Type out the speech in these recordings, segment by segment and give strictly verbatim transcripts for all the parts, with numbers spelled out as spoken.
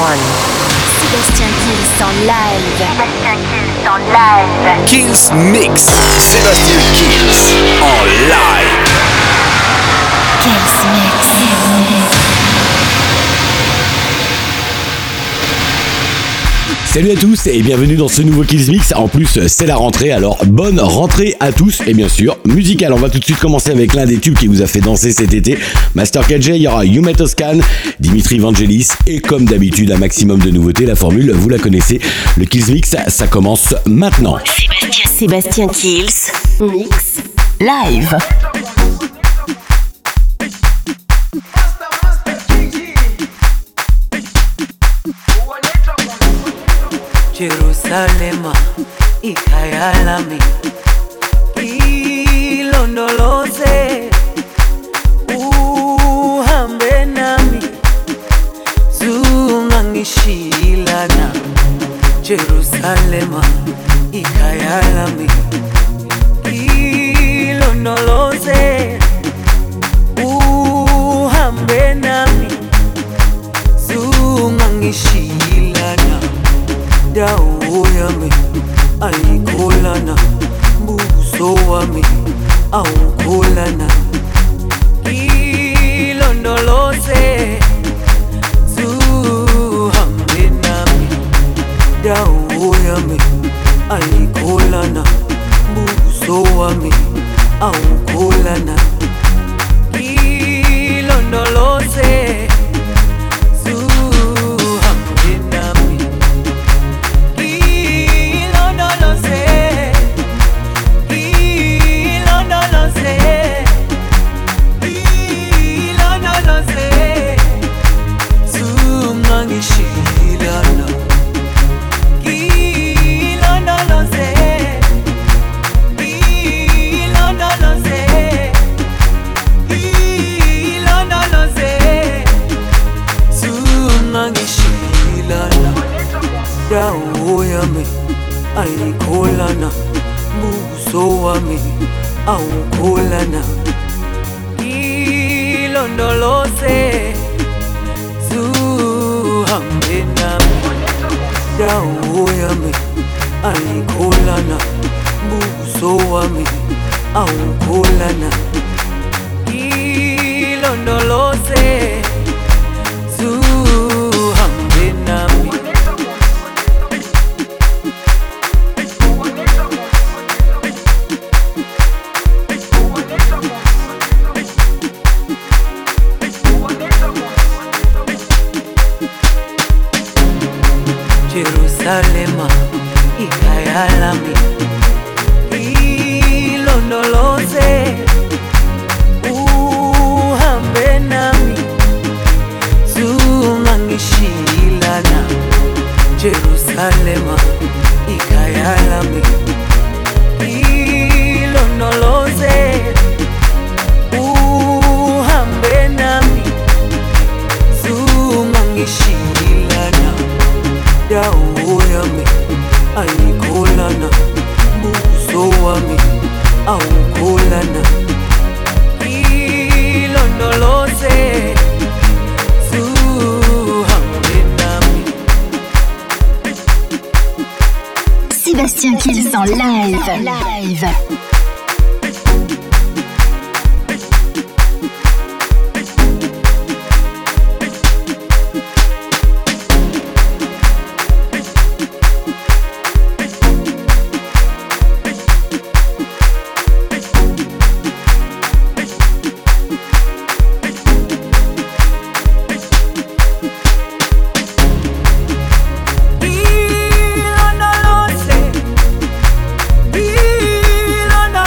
one. Sébastien Kills en live. Sébastien Kills en live. Kills Mix. Sébastien Kills en live. Kills Mix. Salut à tous et bienvenue dans ce nouveau Kills Mix. En plus, c'est la rentrée, alors bonne rentrée à tous. Et bien sûr, musical. On va tout de suite commencer avec l'un des tubes qui vous a fait danser cet été. Master K J, il y aura Yume Toscan, Dimitri Vangelis et comme d'habitude, un maximum de nouveautés. La formule, vous la connaissez. Le Kills Mix, ça commence maintenant. Sébastien, Sébastien Kills Mix live. Jerusalema ikhaya lami ilondoloze uhambe nami zungangishilana Jerusalema ikhaya lami ilondoloze uhambe nami zungangishilana dawo yami ayikholana buso wami awukholana ilondoloze zuhambe nami dawo yami ayikholana buso wami awukholana ilondoloze dawo yami ayikholana buso wami awukholana ilondoloze zuhambe nami dawo yami ayikholana buso wami awukholana ilondoloze zuhambe nami Jerusalema ikhaya lami ilondoloze uhambe nami zungangishilana Jerusalema ikhaya lami ilondoloze uhambe nami zungangishilana dawo yami ayikholana buso wami awukholana ilondoloze zuhambe nami. Sébastien Kills en live. Live. Ilondoloze, ilondoloze.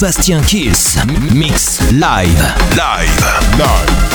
Sébastien Kills, mix live. Live. Live.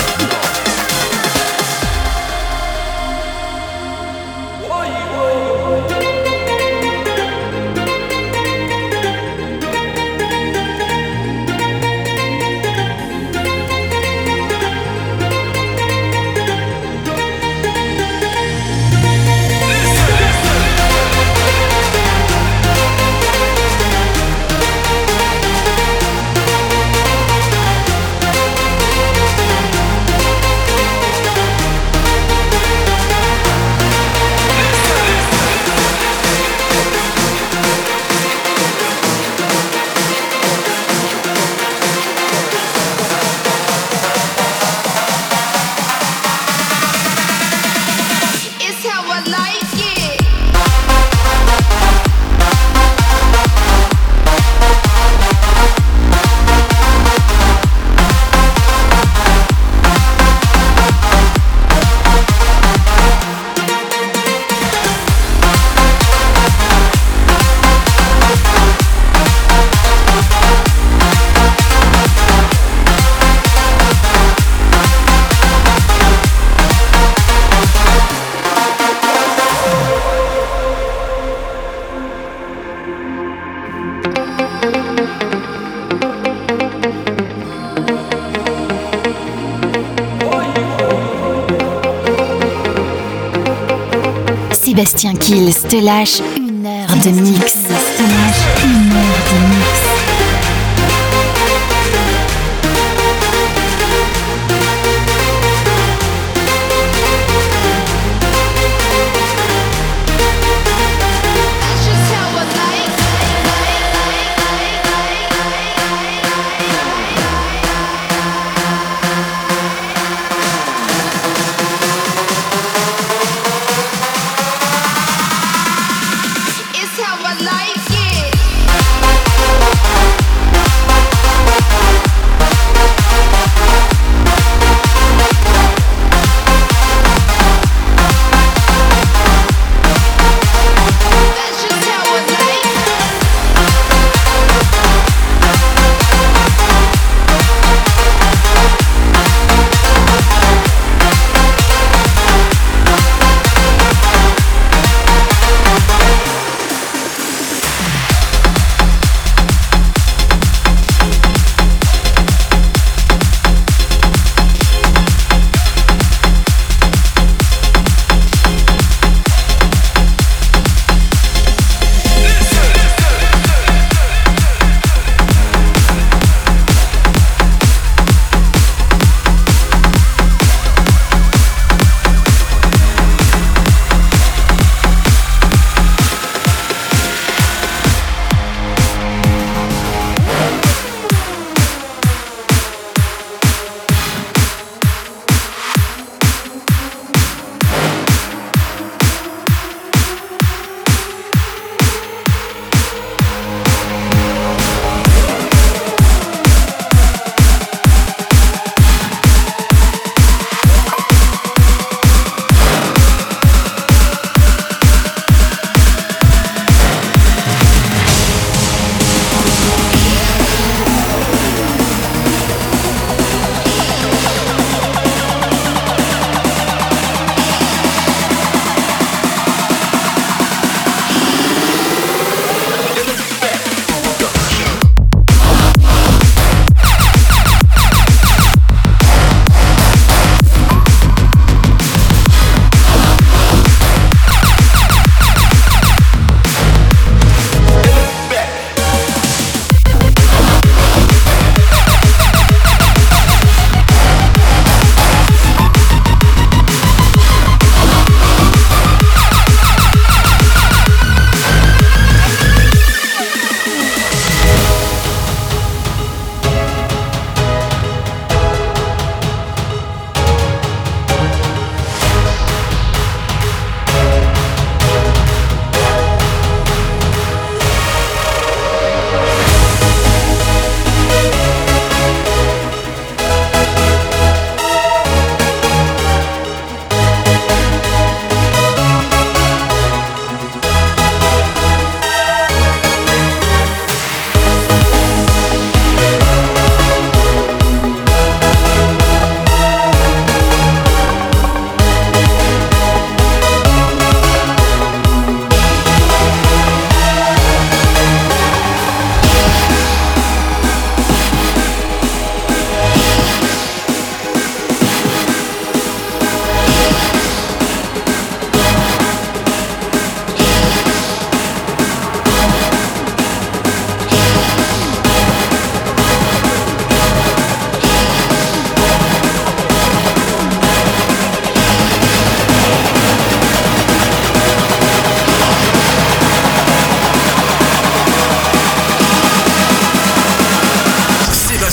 Sébastien Kills te lâche une heure de mix. Te lâche une heure de mix. It's how I like it.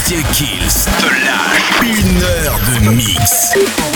Sébastien Kills te lâche une heure de mix.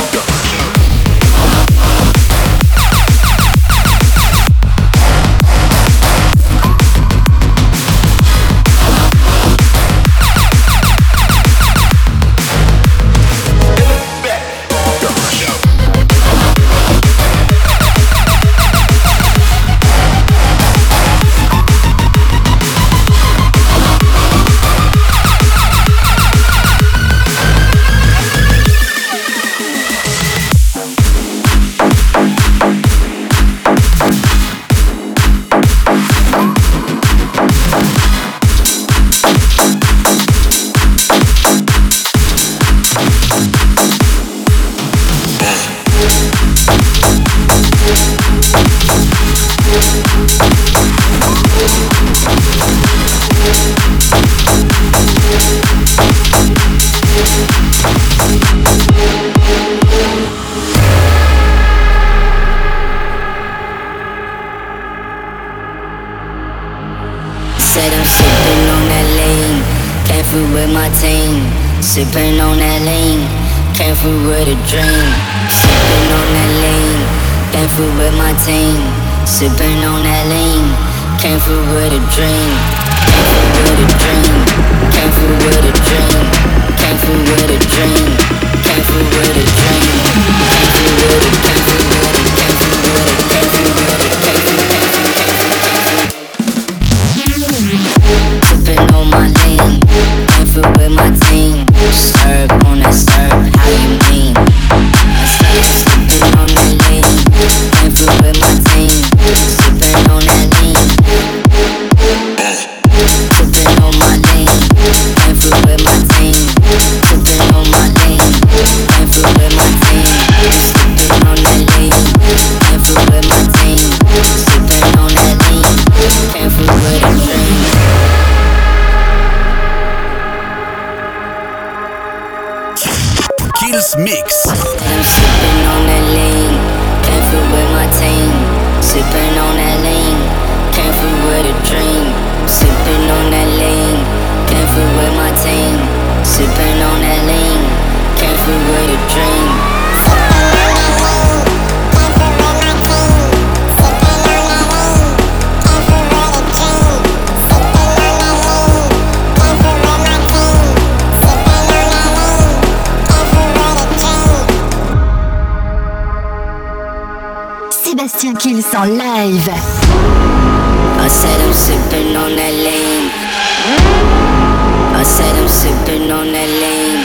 Sipping on that lean, came through with a dream. Sipping on that lean, came through with my team. Sipping on that lean, came through with a dream. Came through with a dream, came through with a dream. Came through with a dream, came through with a dream. Came through with it, came through with it, came through with it, came through with it, came through, came through, came through, came through. Sipping on my lean, came through with my team. Serve on that serve, how you mean? I said sipping on that lean, came through with my team. Sipping on that lean, sipping on my lean, came through with my team. Sipping on my lean, came through with my team. Sipping on that lean, came through with my team. Sipping on that lean, came through with a dream. Kills Mix. I'm sipping on that lean, came through with my team. Sipping on that lean, came through with a dream. Sipping on that lean, came through with my team. Sipping on that lean, came through with a dream. Sébastien Kills en live. I said I'm sipping on that lean. I said I'm sipping on that lean.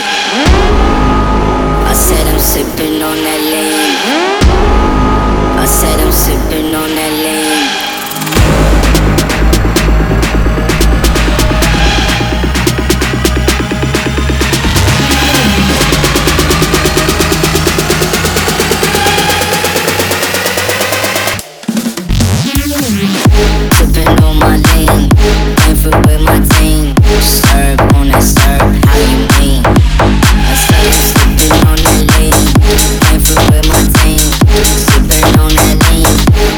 I said I'm sipping on that lean. I said I'm sipping on that lean. Sipping on my lean, came through with my team. Serve on that serve, how you mean? I said I'm sipping on that lean, came through with my team. Sipping on that lean,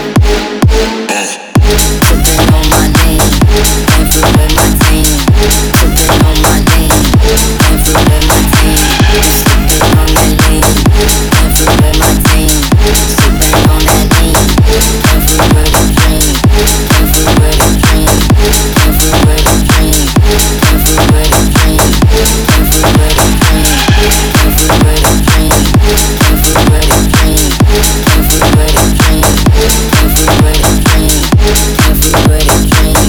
sipping on my lean, came through with my team. Sipping on my lean, came through with my team. Sipping on that lean, came through with my team. Sipping on that lean, came through with a dream. Came through with a dream, came through with a dream, came through with a dream, came through with a dream, came through with a dream, came through with a dream, came through with a dream, came through with a dream, came through with a dream.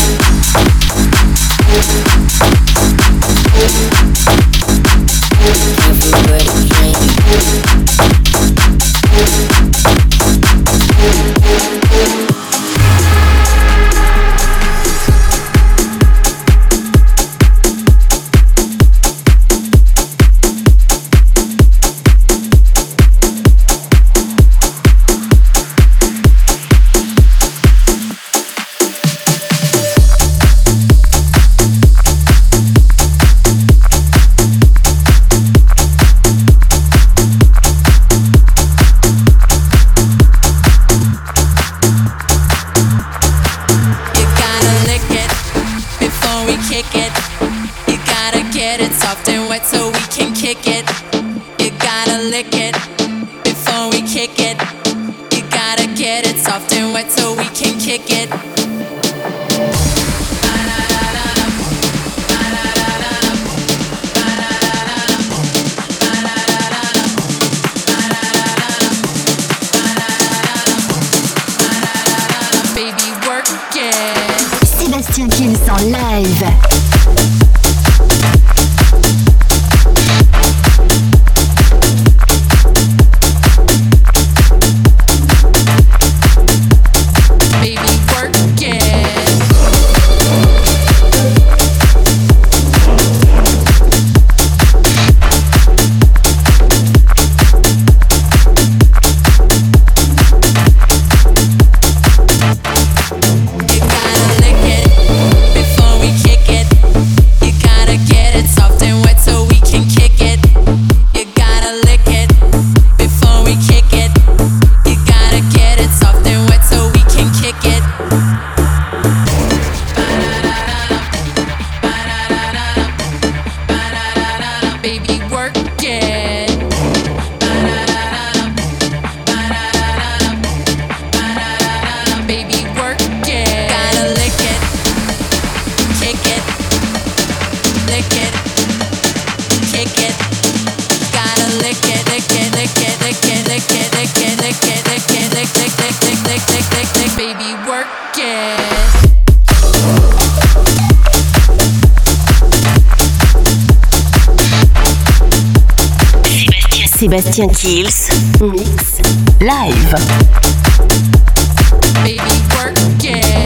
Came through with a dream. You gotta lick it before we kick it. You gotta get it soft and wet so we can kick it. You gotta lick it before we kick it. You gotta get it soft and wet so we can kick it. Baby, work it. Sébastien Kills en live. Sébastien Kills Mix Live. Baby, work it.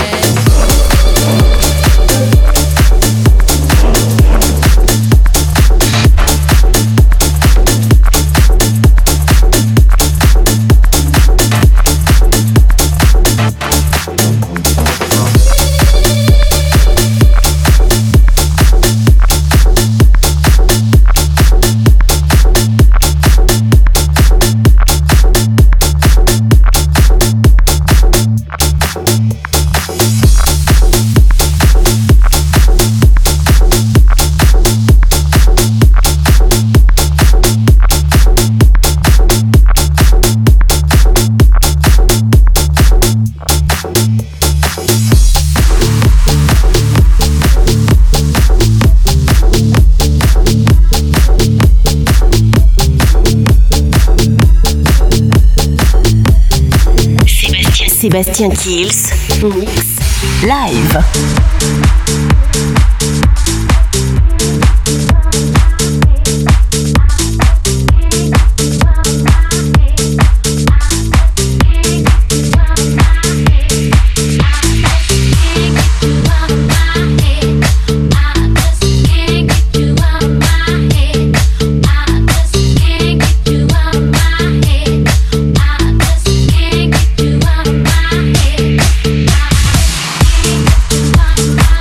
Sébastien Kills Mix Live. Bye.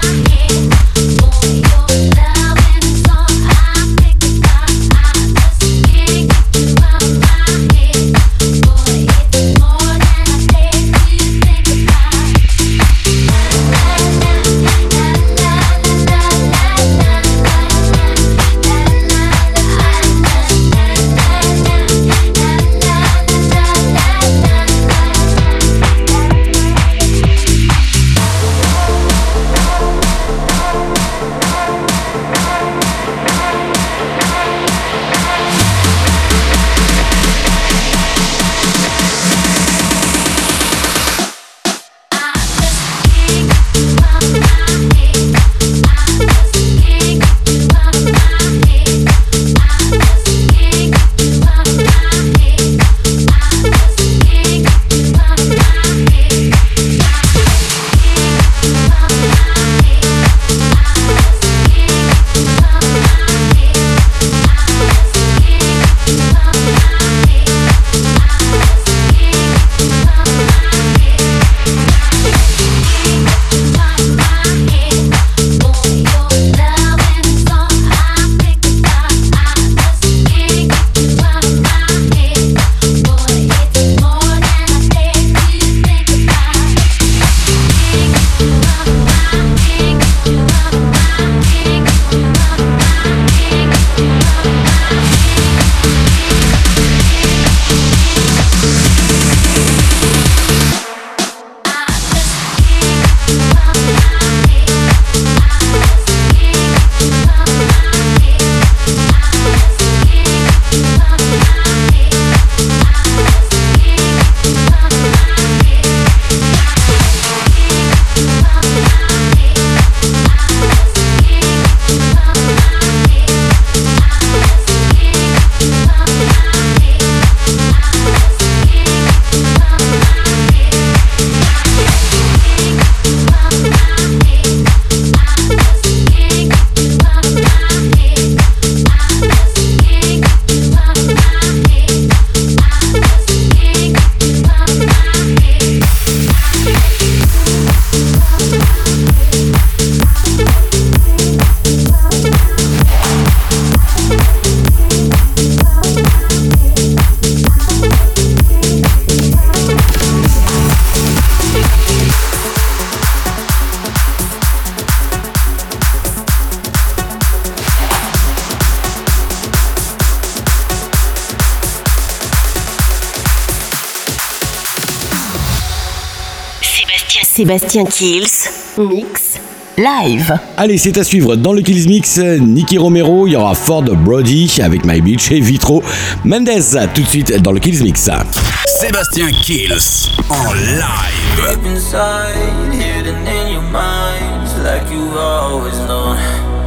Sébastien Kills, mix live. Allez, c'est à suivre dans le Kills Mix. Nicky Romero, il y aura Ford Brody avec My Beach et Vitro. Mendes, tout de suite dans le Kills Mix. Sébastien Kills en live. Deep inside, hidden in your mind, like you've always known.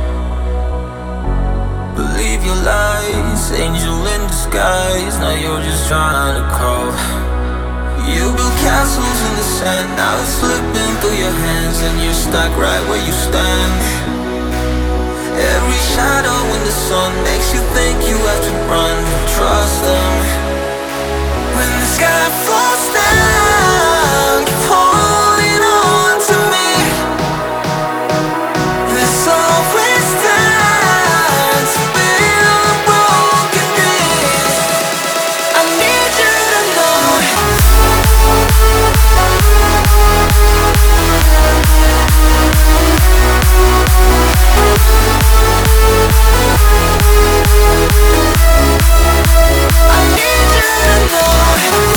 Believe your lies, angel in disguise. Now you're just trying to crawl. You build castles in the sand, now it's slipping through your hands, and you're stuck right where you stand. Every shadow in the sun makes you think you have to run. Trust them. When the sky falls down, keep holding on to me. There's always time to build broken dreams. I need you to know. I need you to know.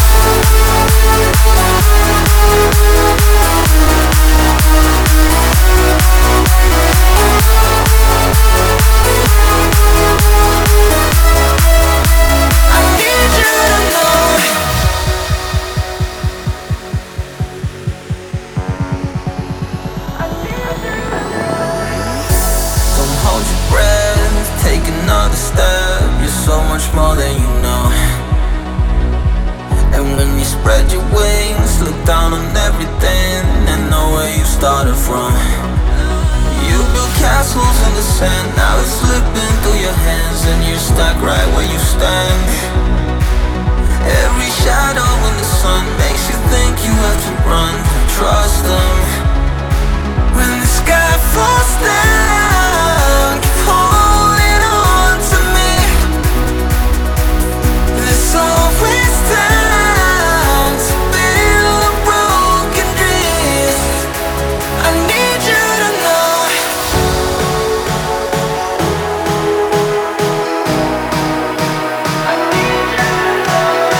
More than you know. And when you spread your wings, look down on everything and know where you started from. You build castles in the sand, now it's slipping through your hands, and you're stuck right where you stand. Every shadow in the sun makes you think you have to run. Trust them. When the sky falls down, keep holding on to me. There's always time to build broken dreams. I need you to know. I need you to know.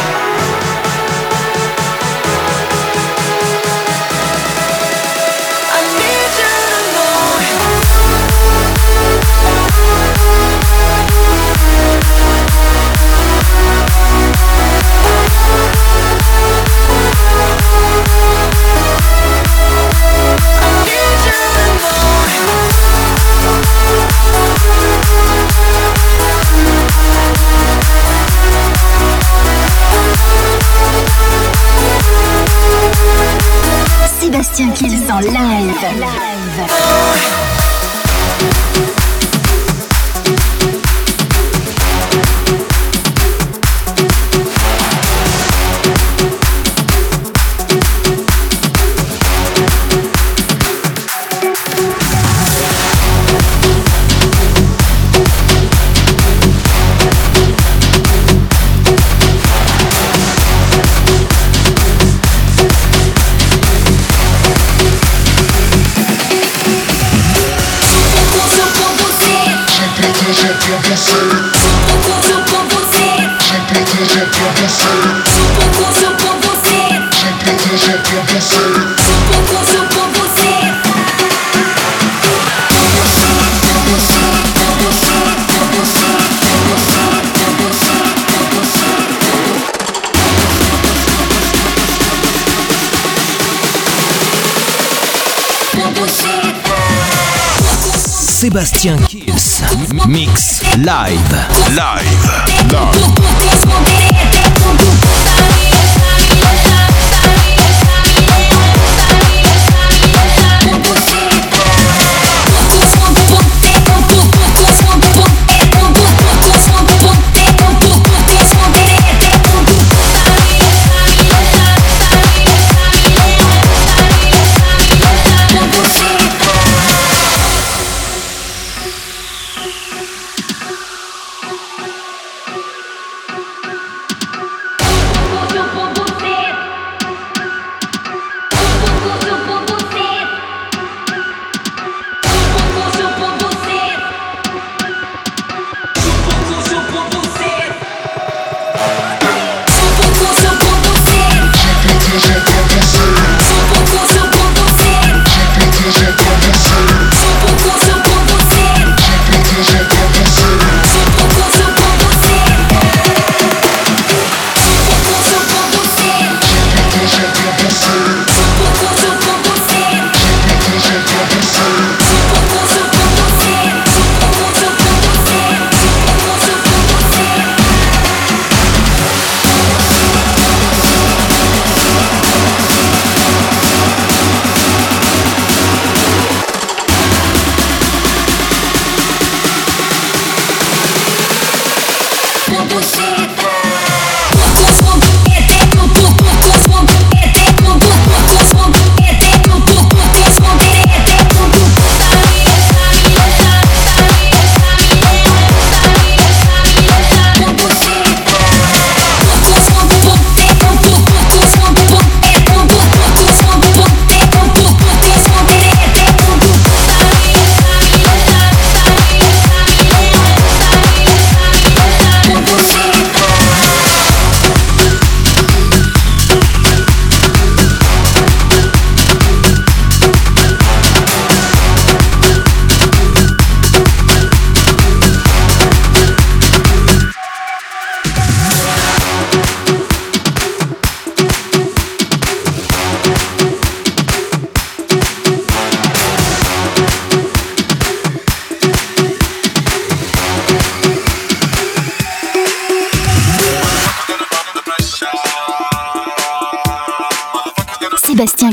I need you to know. Sébastien Kills en live. live. Sébastien Kills mix live. Live.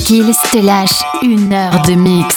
Kills te lâche une heure de mix.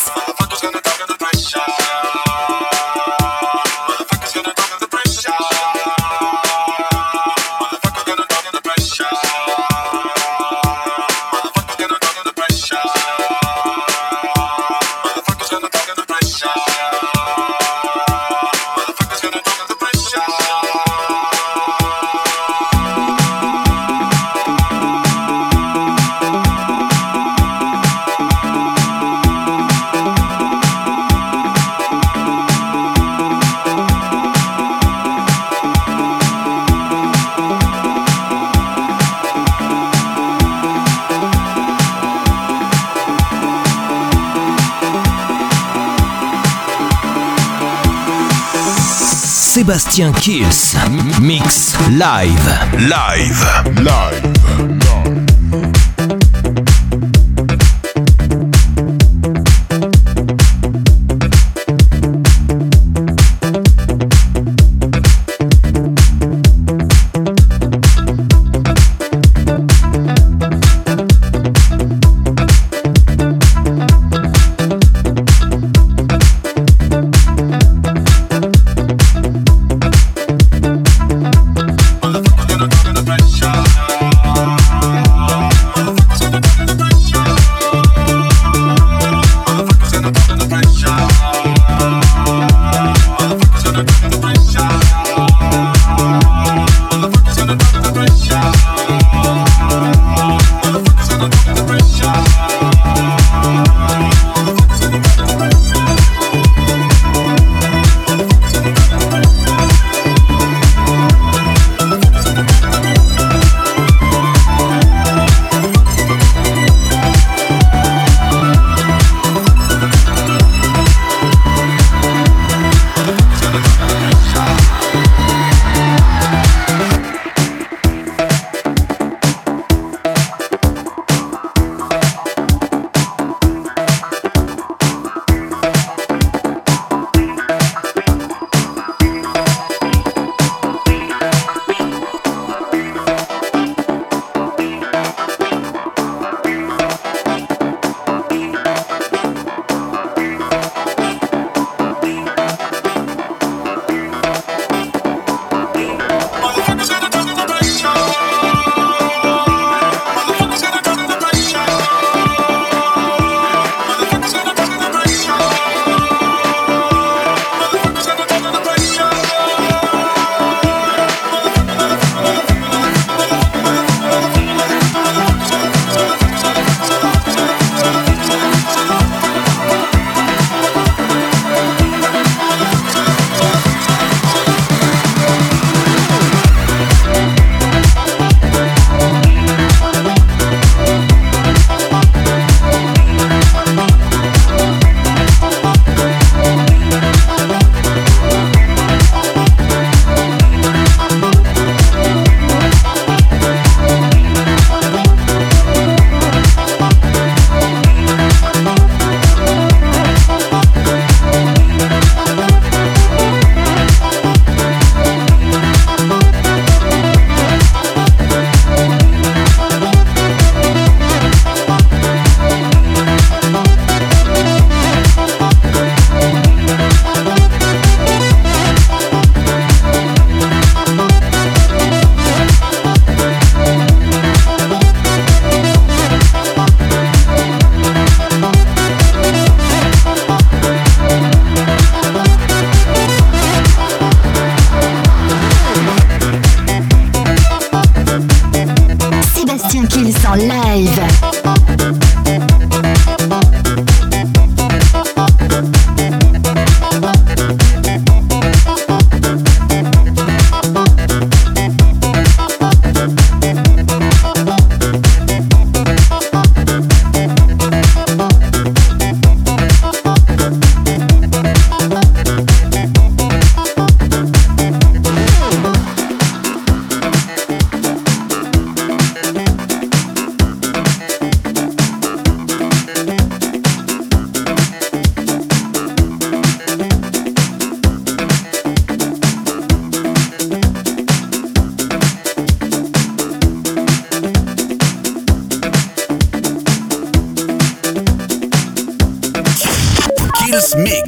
Sébastien Kills, mix live. Live. Live. Motherfucker, gonna, gonna, pressure.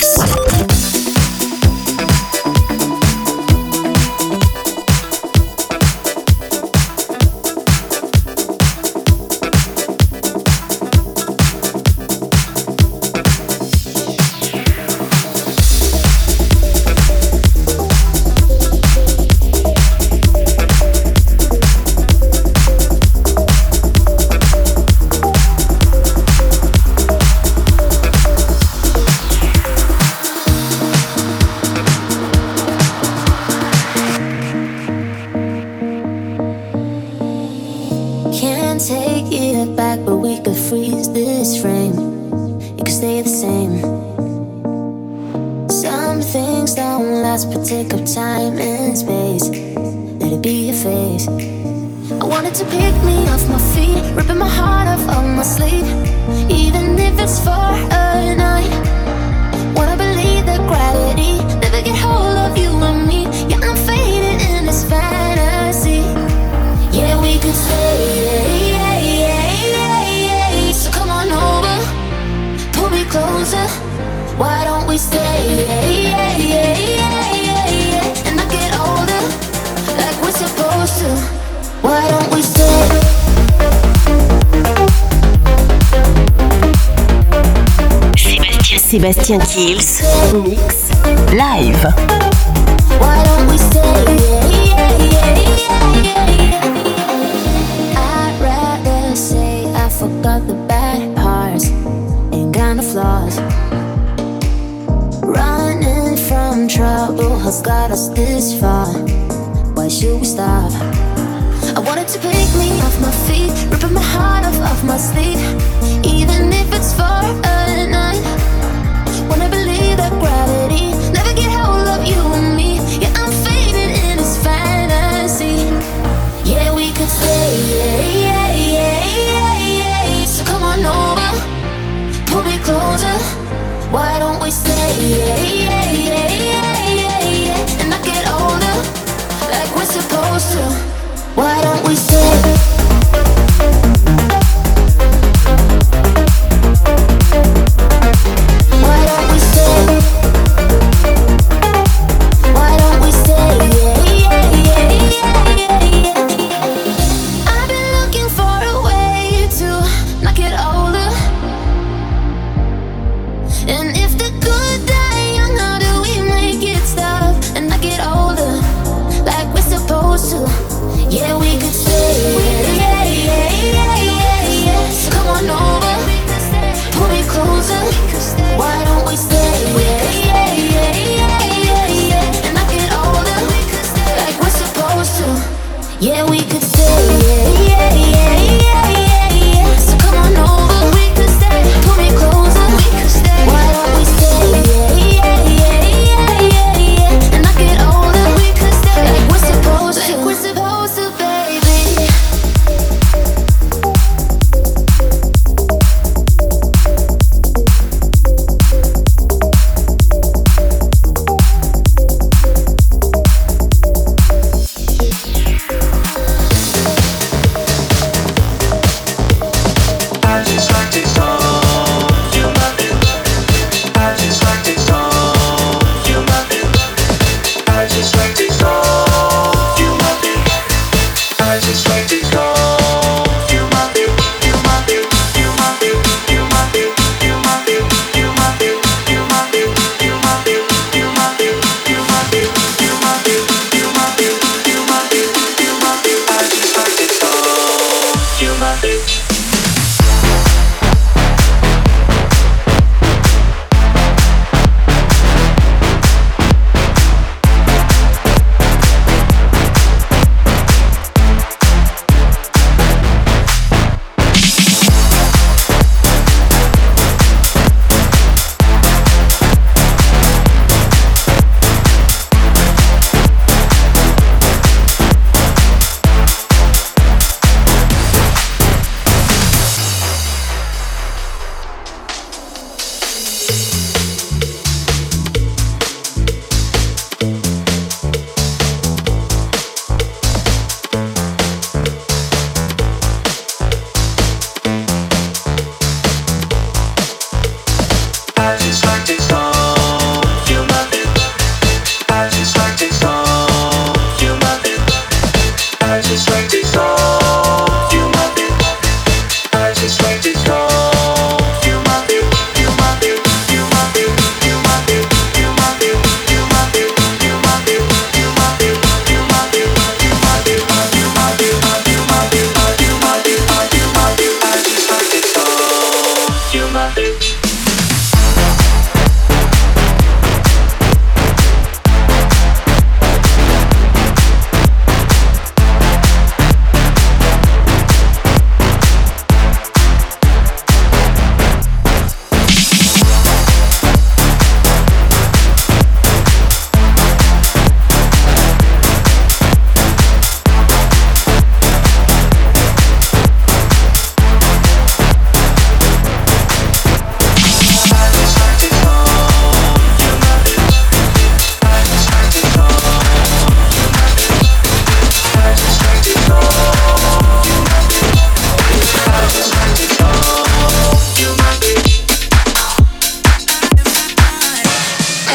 Mix. Sébastien Kills Mix Live. Why don't we stay? I'd rather say I forgot the bad parts and kind of flaws. Running from trouble has got us this far. Why should we stop? I wanted to pick me off my feet, ripping my heart off of my sleeve, even if it's for a night. Wanna believe that gravity never get hold of you and me. Yeah, I'm faded in this fantasy. Yeah, we could stay. Yeah, yeah, yeah, yeah. So come on over, pull me closer. Why don't we stay? Yeah, yeah, yeah, yeah, yeah, yeah. And not get older like we're supposed to. Why don't we stay? Yeah, we could stay.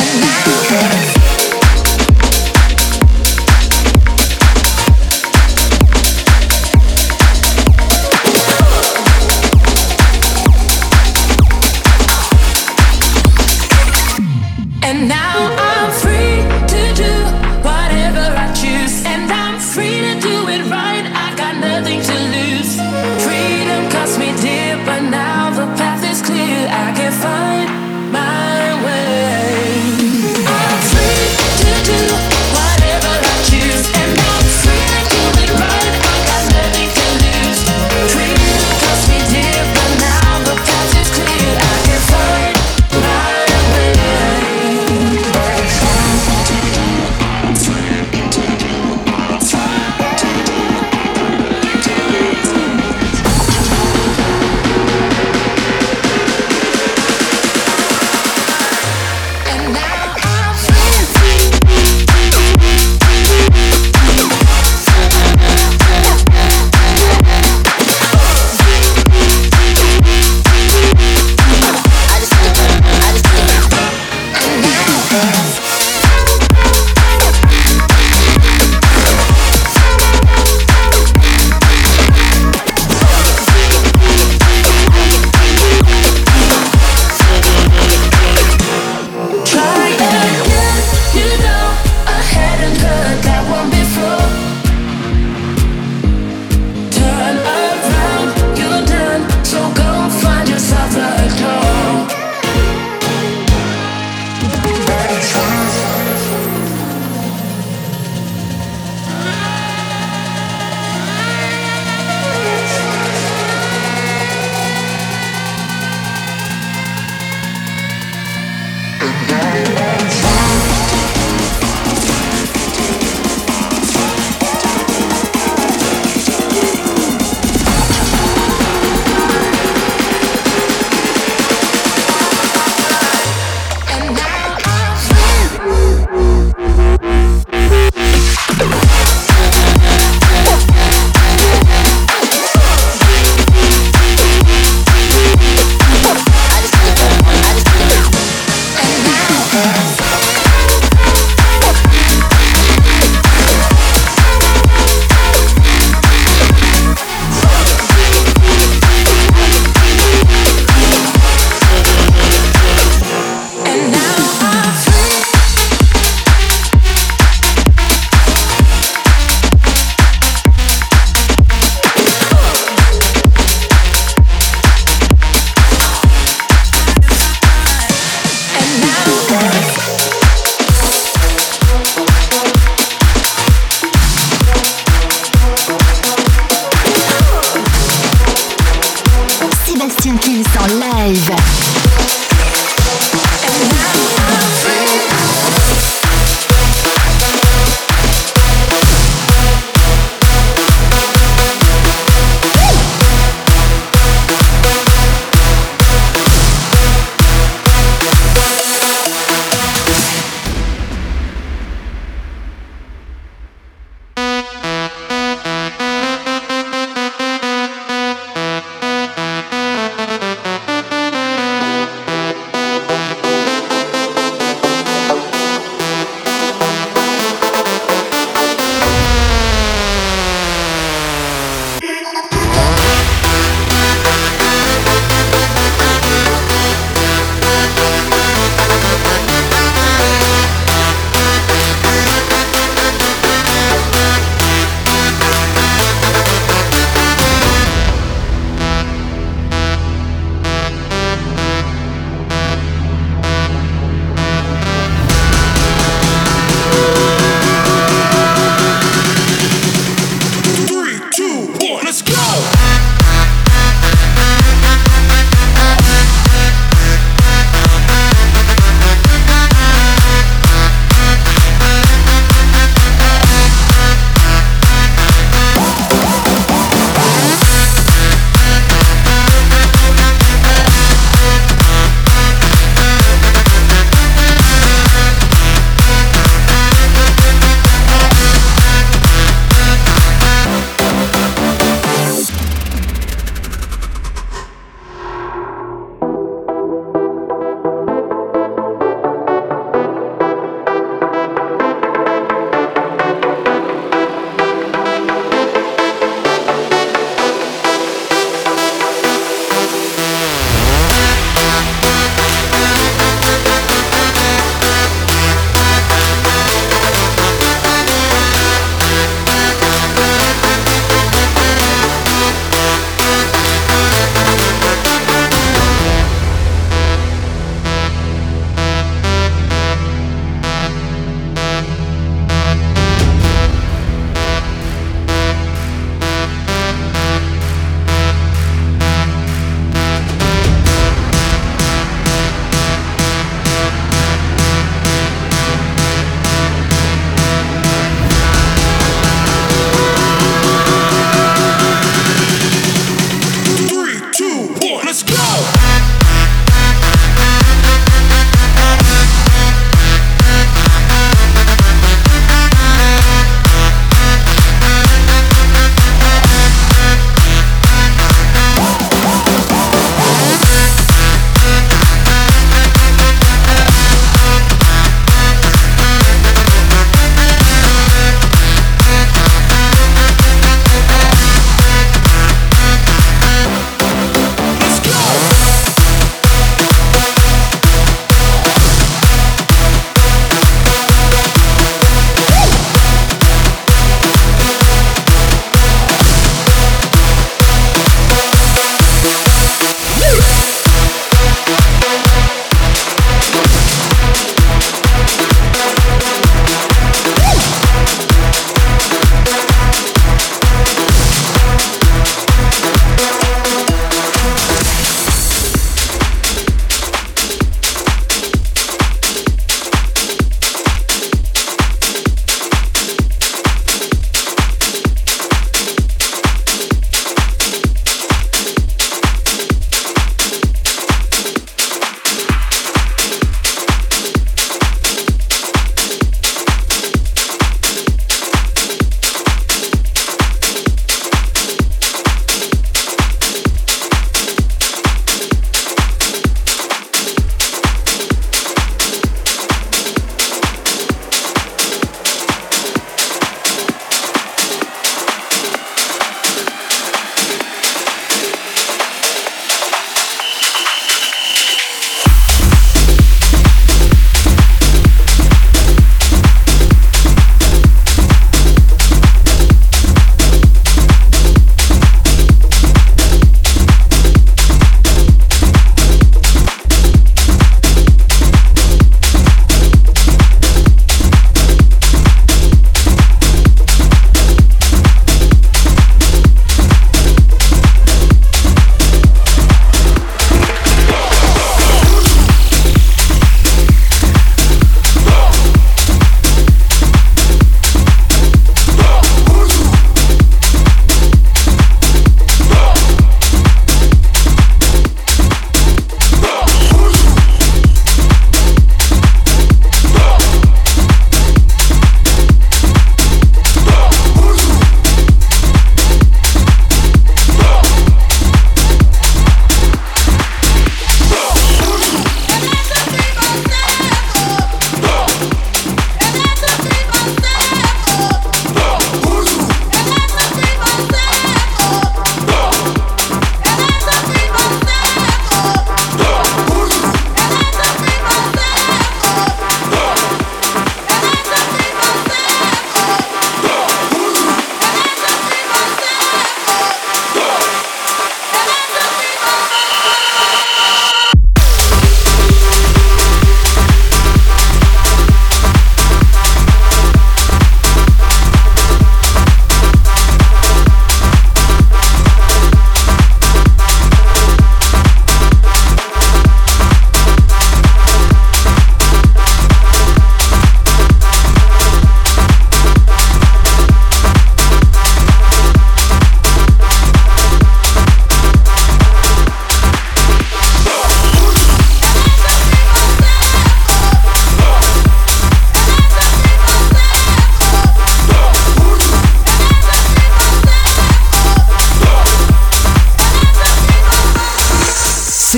Freedom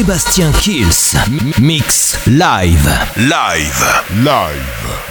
Sébastien Kills. Mix live. Live. Live.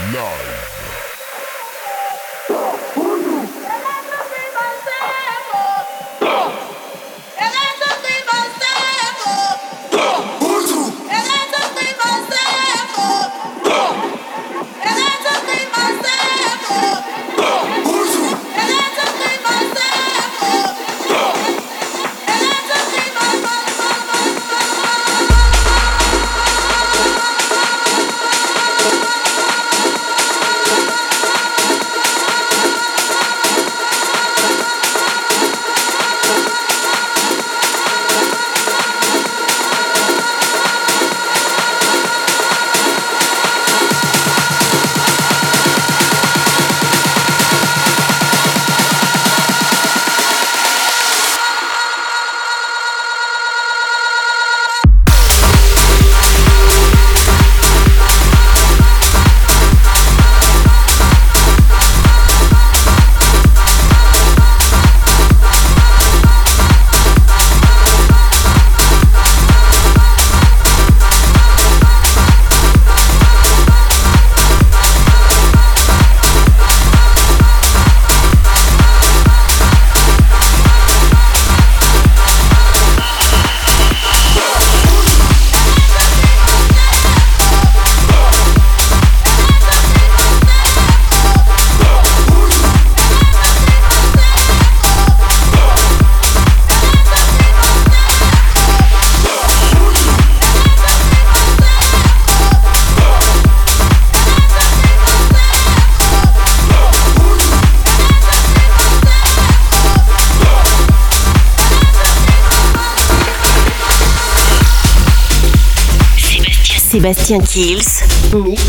Sébastien Kills, Mix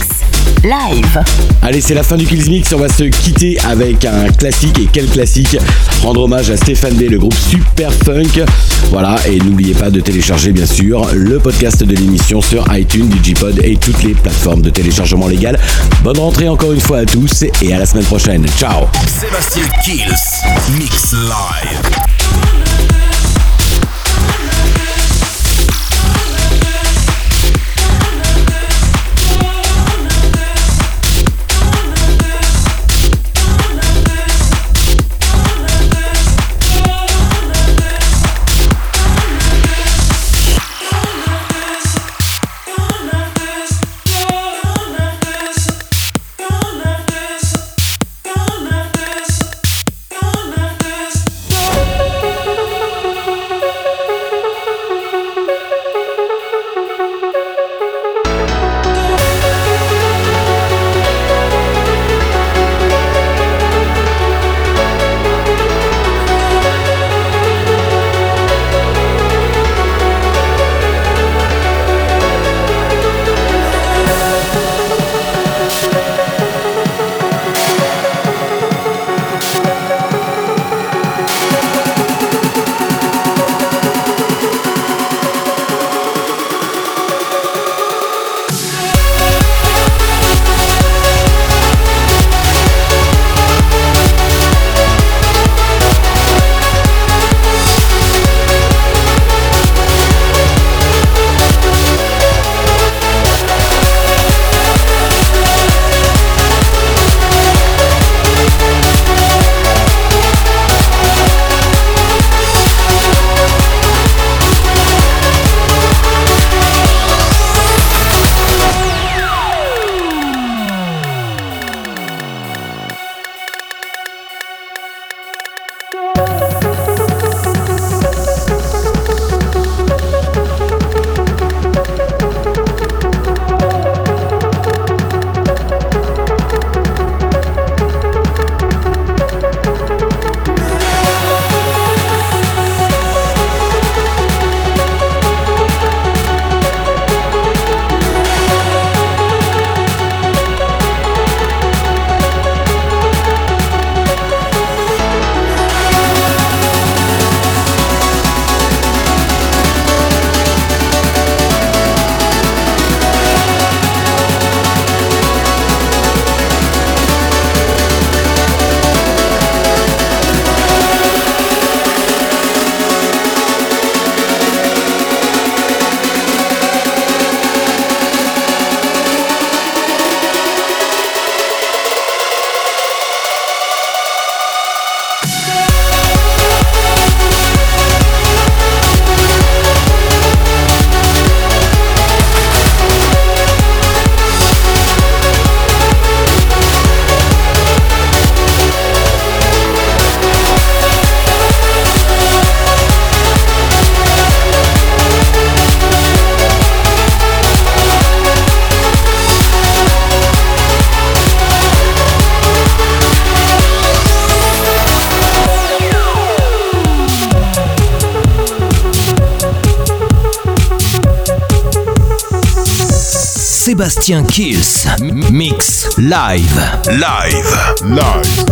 Live. Allez, c'est la fin du Kills Mix, on va se quitter avec un classique, et quel classique, rendre hommage à Stéphane B, le groupe Super Funk. Voilà, et n'oubliez pas de télécharger bien sûr le podcast de l'émission sur iTunes, Digipod et toutes les plateformes de téléchargement légal. Bonne rentrée encore une fois à tous et à la semaine prochaine. Ciao. Sébastien Kills, Mix Live. Sébastien Kills. Mix live. Live. Live.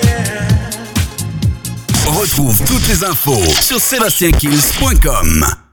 Retrouve toutes les infos sur sébastien kills point com.